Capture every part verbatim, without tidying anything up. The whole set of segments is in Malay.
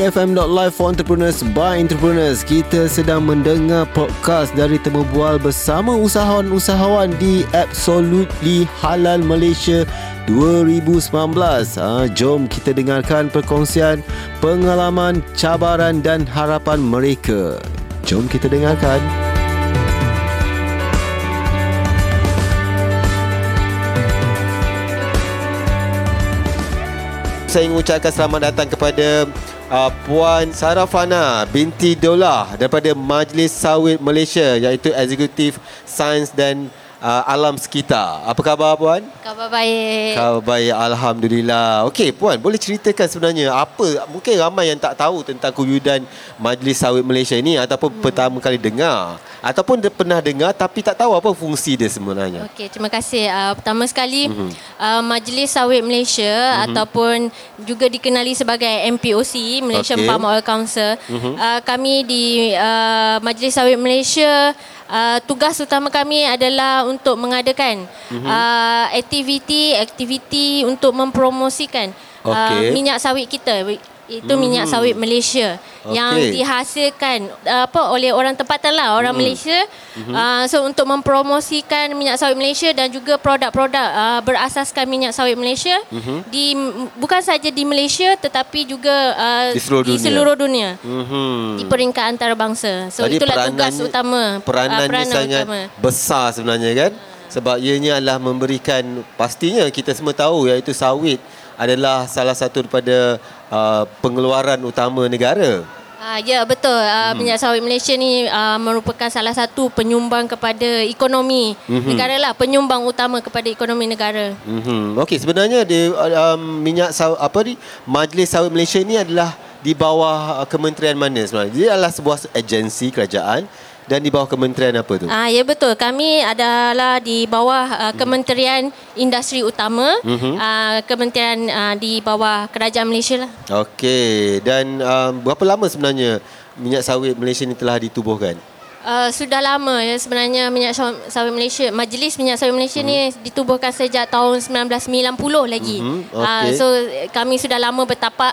f m dot live for entrepreneurs by entrepreneurs. Kita sedang mendengar podcast dari Temu Bual bersama usahawan-usahawan di Absolutely Halal Malaysia dua ribu sembilan belas. Ha, jom kita dengarkan perkongsian pengalaman, cabaran dan harapan mereka. Jom kita dengarkan. Saya ingin ucapkan selamat datang kepada uh, Puan Sarafana binti Dolah daripada Majlis Sawit Malaysia, iaitu Eksekutif Sains dan uh, Alam Sekitar. Apa khabar Puan? Khabar baik. Khabar baik, Alhamdulillah. Okey Puan, boleh ceritakan sebenarnya apa, mungkin ramai yang tak tahu tentang kewujudan Majlis Sawit Malaysia ini ataupun hmm. pertama kali dengar ataupun dia pernah dengar tapi tak tahu apa fungsi dia sebenarnya. Okey, terima kasih. Uh, pertama sekali, mm-hmm. uh, Majlis Sawit Malaysia mm-hmm. ataupun juga dikenali sebagai M P O C, Malaysian okay. Palm Oil Council. Mm-hmm. Uh, kami di uh, Majlis Sawit Malaysia, uh, tugas utama kami adalah untuk mengadakan mm-hmm. uh, aktiviti-aktiviti untuk mempromosikan okay. uh, minyak sawit kita. Itu minyak hmm. sawit Malaysia okay. yang dihasilkan apa oleh orang tempatan lah, orang hmm. Malaysia. Hmm. Uh, so untuk mempromosikan minyak sawit Malaysia dan juga produk-produk uh, berasaskan minyak sawit Malaysia hmm. di bukan saja di Malaysia tetapi juga uh, di seluruh di dunia, seluruh dunia hmm. di peringkat antarabangsa. So Jadi itulah tugas utama. Peranannya uh, peranan sangat utama. besar sebenarnya kan? Sebab ianya adalah memberikan, pastinya kita semua tahu, iaitu sawit adalah salah satu daripada uh, pengeluaran utama negara. Uh, ya betul. Uh, hmm. Minyak sawit Malaysia ni uh, merupakan salah satu penyumbang kepada ekonomi hmm. negara lah, penyumbang utama kepada ekonomi negara. Hmm. Okey, sebenarnya di um, minyak sawit apa ni, Majlis Sawit Malaysia ni adalah di bawah uh, kementerian mana sebenarnya? Dia adalah sebuah agensi kerajaan. Dan di bawah kementerian apa tu? Ah, ya betul. Kami adalah di bawah uh, Kementerian Industri Utama, mm-hmm. uh, Kementerian uh, di bawah Kerajaan Malaysia lah. Okey. Dan um, berapa lama sebenarnya minyak sawit Malaysia ni telah ditubuhkan? Uh, sudah lama ya sebenarnya minyak sawit Malaysia. Majlis Minyak Sawit Malaysia mm-hmm. ni ditubuhkan sejak tahun sembilan belas sembilan puluh lagi. Mm-hmm. Okay. Uh, so kami sudah lama bertapak.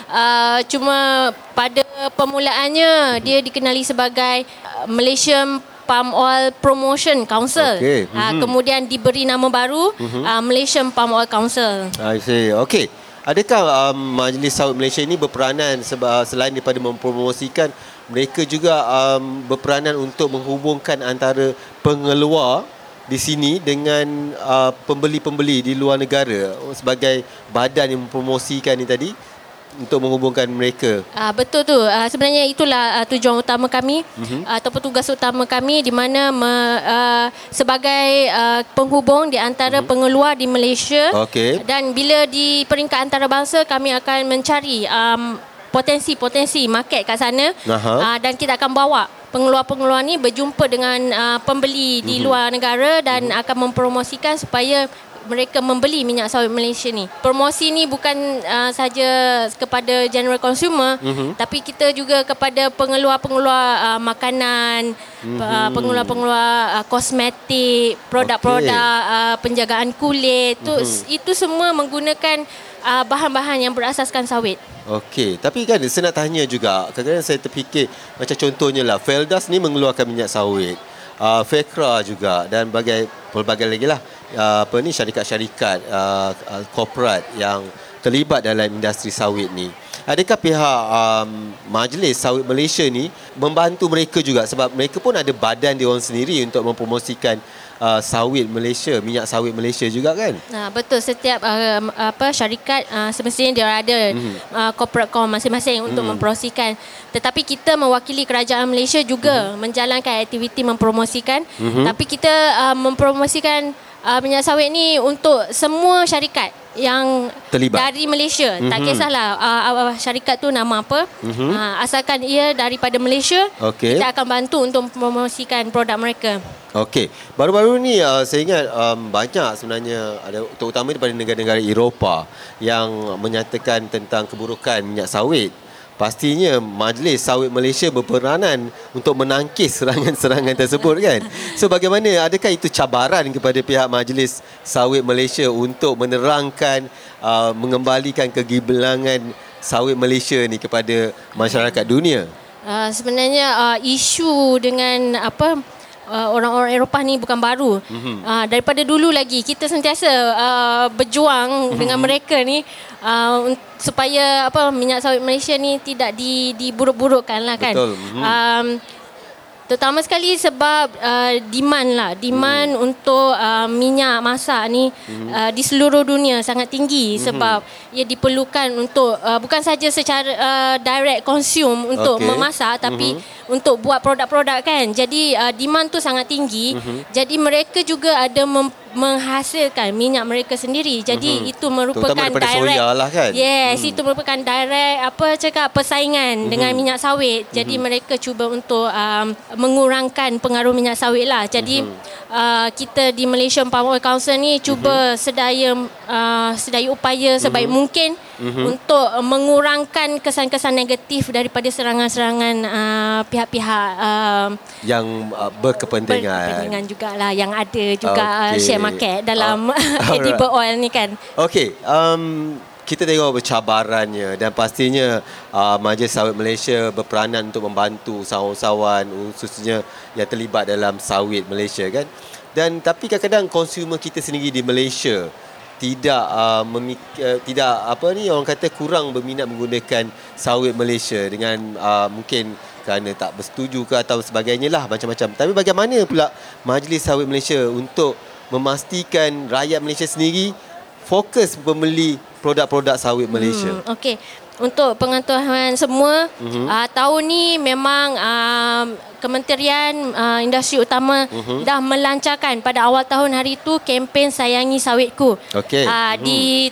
Uh, cuma pada permulaannya dia dikenali sebagai uh, Malaysian Palm Oil Promotion Council. Okay. Mm-hmm. Uh, kemudian diberi nama baru mm-hmm. uh, Malaysian Palm Oil Council. I see. Okey. Adakah um, Majlis Sawit Malaysia ini berperanan seba, selain daripada mempromosikan, mereka juga um, berperanan untuk menghubungkan antara pengeluar di sini dengan uh, pembeli-pembeli di luar negara sebagai badan yang mempromosikan ni tadi, untuk menghubungkan mereka. Ah, betul tu. Ah, sebenarnya itulah ah, tujuan utama kami mm-hmm. ah, ataupun tugas utama kami di mana me, ah, sebagai ah, penghubung di antara mm-hmm. pengeluar di Malaysia. Okay. Dan bila di peringkat antarabangsa kami akan mencari um, potensi-potensi market kat sana uh, dan kita akan bawa pengeluar-pengeluar ni berjumpa dengan uh, pembeli mm-hmm. di luar negara dan mm-hmm. akan mempromosikan supaya mereka membeli minyak sawit Malaysia ni. Promosi ni bukan uh, saja kepada general consumer, mm-hmm. tapi kita juga kepada pengeluar-pengeluar uh, makanan, mm-hmm. uh, pengeluar-pengeluar uh, kosmetik, produk-produk okay. uh, penjagaan kulit. Mm-hmm. Tu, itu semua menggunakan uh, bahan-bahan yang berasaskan sawit. Okey, tapi kan saya nak tanya juga, kadang-kadang saya terfikir macam contohnya lah, Feldas ni mengeluarkan minyak sawit, uh, Fekra juga dan bagai pelbagai lagi lah. Uh, apa ni syarikat-syarikat uh, uh, korporat yang terlibat dalam industri sawit ni. Adakah pihak um, Majlis Sawit Malaysia ni membantu mereka juga, sebab mereka pun ada badan dia orang sendiri untuk mempromosikan uh, sawit Malaysia, minyak sawit Malaysia juga kan? Nah, betul, setiap uh, apa syarikat uh, semestinya dia ada mm-hmm. uh, corporate com masing-masing mm-hmm. untuk mempromosikan. Tetapi kita mewakili kerajaan Malaysia juga mm-hmm. menjalankan aktiviti mempromosikan. Mm-hmm. Tapi kita uh, mempromosikan Uh, minyak sawit ni untuk semua syarikat yang terlibat dari Malaysia. Mm-hmm. Tak kisahlah uh, uh, syarikat tu nama apa, mm-hmm. uh, asalkan ia daripada Malaysia, okay. kita akan bantu untuk mempromosikan produk mereka. Okey, baru-baru ni uh, saya ingat um, banyak sebenarnya, ada terutama daripada negara-negara Eropah yang menyatakan tentang keburukan minyak sawit. Pastinya Majlis Sawit Malaysia berperanan untuk menangkis serangan-serangan tersebut kan. So bagaimana, adakah itu cabaran kepada pihak Majlis Sawit Malaysia untuk menerangkan, uh, mengembalikan kegemilangan sawit Malaysia ni kepada masyarakat dunia? Uh, sebenarnya uh, isu dengan apa uh, orang-orang Eropah ni bukan baru. Mm-hmm. Uh, daripada dulu lagi kita sentiasa uh, berjuang mm-hmm. dengan mereka ni uh, supaya apa minyak sawit Malaysia ni tidak di diburuk-burukkan lah kan. Betul. Mm-hmm. Um, Terutama sekali sebab uh, demand lah. Demand hmm. untuk uh, minyak masak ni hmm. uh, di seluruh dunia sangat tinggi. Hmm. Sebab ia diperlukan untuk uh, bukan saja secara uh, direct consume untuk okay. memasak, tapi hmm. untuk buat produk-produk kan. Jadi uh, demand tu sangat tinggi. Hmm. Jadi mereka juga ada mem- menghasilkan minyak mereka sendiri. Jadi hmm. itu merupakan direct soya lah kan. Yes, hmm. itu merupakan direct apa cakap persaingan hmm. dengan minyak sawit. Jadi hmm. mereka cuba untuk um, mengurangkan pengaruh minyak sawit lah. Jadi mm-hmm. uh, kita di Malaysian Palm Oil Council ni cuba mm-hmm. sedaya uh, sedaya upaya sebaik mm-hmm. mungkin mm-hmm. untuk mengurangkan kesan-kesan negatif daripada serangan-serangan uh, pihak-pihak uh, yang uh, berkepentingan. Berkepentingan jugalah yang ada juga okay. share market dalam uh, edible oil ni kan. Okey, um kita tengok bercabarannya dan pastinya uh, Majlis Sawit Malaysia berperanan untuk membantu usahawan-usahawan khususnya yang terlibat dalam sawit Malaysia kan. Dan tapi kadang-kadang konsumer kita sendiri di Malaysia tidak uh, memik- uh, tidak apa ni orang kata kurang berminat menggunakan sawit Malaysia dengan uh, mungkin kerana tak bersetuju ke atau sebagainya lah macam-macam. Tapi bagaimana pula Majlis Sawit Malaysia untuk memastikan rakyat Malaysia sendiri fokus membeli produk-produk sawit Malaysia? Hmm, Okey. Untuk pengetahuan semua, uh-huh. uh, tahun ni memang uh, Kementerian uh, Industri Utama uh-huh. dah melancarkan pada awal tahun hari itu kempen Sayangi Sawitku. Okey. Uh, uh-huh. Di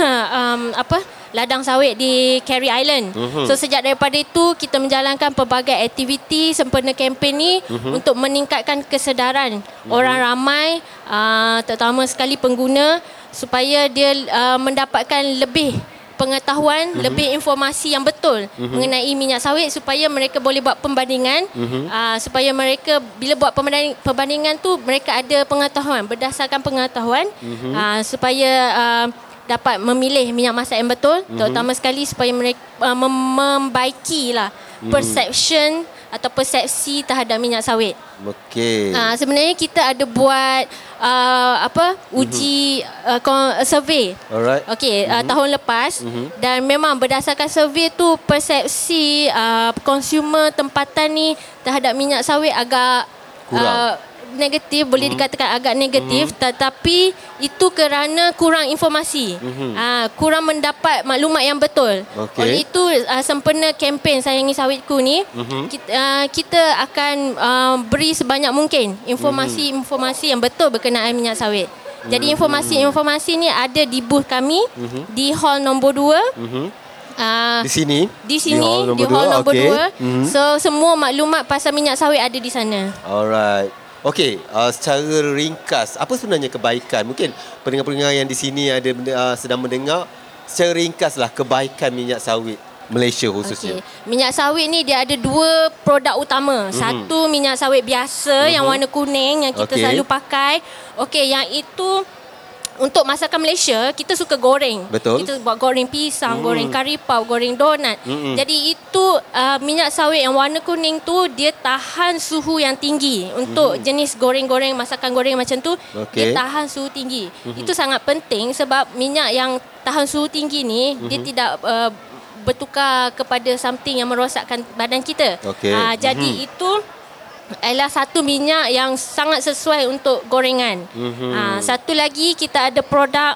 um, apa? ladang sawit di Carey Island. Uh-huh. So sejak daripada itu kita menjalankan pelbagai aktiviti sempena kempen ni uh-huh. untuk meningkatkan kesedaran uh-huh. orang ramai uh, terutama sekali pengguna supaya dia uh, mendapatkan lebih pengetahuan, uh-huh. lebih informasi yang betul uh-huh. mengenai minyak sawit supaya mereka boleh buat pembandingan uh-huh. uh, supaya mereka bila buat pembanding, perbandingan tu mereka ada pengetahuan berdasarkan pengetahuan uh-huh. uh, supaya uh, dapat memilih minyak masak yang betul, mm-hmm. terutama sekali supaya mereka uh, mem- membaikilah mm-hmm. perception atau persepsi terhadap minyak sawit. Okey. Uh, sebenarnya kita ada buat uh, apa uji mm-hmm. uh, survey. Alright. Okey, mm-hmm. uh, tahun lepas mm-hmm. dan memang berdasarkan survey tu persepsi uh, consumer tempatan ni terhadap minyak sawit agak kurang. Uh, negatif, boleh mm-hmm. dikatakan agak negatif, mm-hmm. tetapi itu kerana kurang informasi, mm-hmm. uh, kurang mendapat maklumat yang betul. Okay. Oleh itu uh, sempena kempen Sayangi Sawitku ni, mm-hmm. kita, uh, kita akan uh, beri sebanyak mungkin informasi-informasi yang betul berkenaan minyak sawit. Jadi informasi-informasi ni ada di booth kami mm-hmm. di hall nombor dua. Mm-hmm. Uh, di sini di sini di hall nombor, di hall dua. nombor okay. dua. Mm-hmm. So semua maklumat pasal minyak sawit ada di sana. Alright. Okey, uh, secara ringkas, apa sebenarnya kebaikan? Mungkin pendengar-pendengar yang di sini ada uh, sedang mendengar, secara ringkaslah kebaikan minyak sawit Malaysia khususnya. Okay. Minyak sawit ni dia ada dua produk utama. Mm-hmm. Satu minyak sawit biasa mm-hmm. yang warna kuning yang kita okay. selalu pakai. Okey, yang itu untuk masakan Malaysia, kita suka goreng. Betul. Kita buat goreng pisang, mm. goreng kari pau, goreng donat. Mm-mm. Jadi itu uh, minyak sawit yang warna kuning tu dia tahan suhu yang tinggi. Untuk mm. jenis goreng-goreng, masakan goreng macam tu, okay. dia tahan suhu tinggi. Mm-hmm. Itu sangat penting sebab minyak yang tahan suhu tinggi ni, mm-hmm. dia tidak uh, bertukar kepada something yang merosakkan badan kita. Okay. Uh, jadi mm-hmm. itu adalah satu minyak yang sangat sesuai untuk gorengan. Mm-hmm. Uh, satu lagi kita ada produk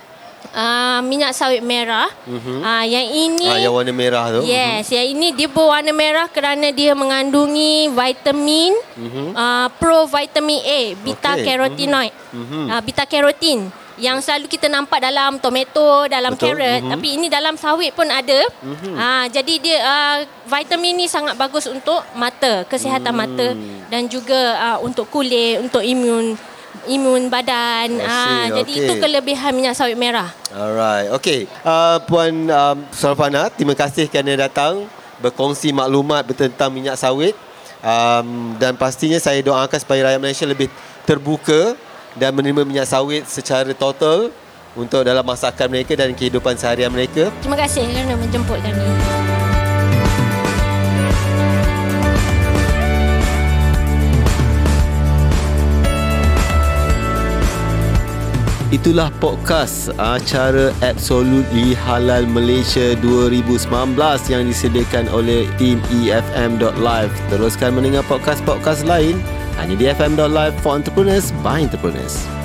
uh, minyak sawit merah. Mm-hmm. Uh, yang ini ah, yang warna merah tu. Yes, mm-hmm. yang ini dia berwarna merah kerana dia mengandungi vitamin mm-hmm. uh, pro vitamin A, beta okay. carotenoid. Mm-hmm. Uh, beta carotene yang selalu kita nampak dalam tomato, dalam Betul. carrot, mm-hmm. tapi ini dalam sawit pun ada. Mm-hmm. Ha, jadi dia uh, vitamin ni sangat bagus untuk mata, kesihatan mm. mata dan juga uh, untuk kulit, untuk imun imun badan. Ah, okay. Jadi itu kelebihan minyak sawit merah. Alright. Okey. Uh, Puan um, Sarfana, terima kasih kerana datang berkongsi maklumat tentang minyak sawit. Um, dan pastinya saya doakan supaya rakyat Malaysia lebih terbuka dan menerima minyak sawit secara total untuk dalam masakan mereka dan kehidupan seharian mereka. Terima kasih kerana menjemput kami. Itulah podcast acara Absolutely Halal Malaysia dua ribu sembilan belas yang disediakan oleh tim E F M dot live. Teruskan mendengar podcast-podcast lain hanya di F M dot live for entrepreneurs by entrepreneurs.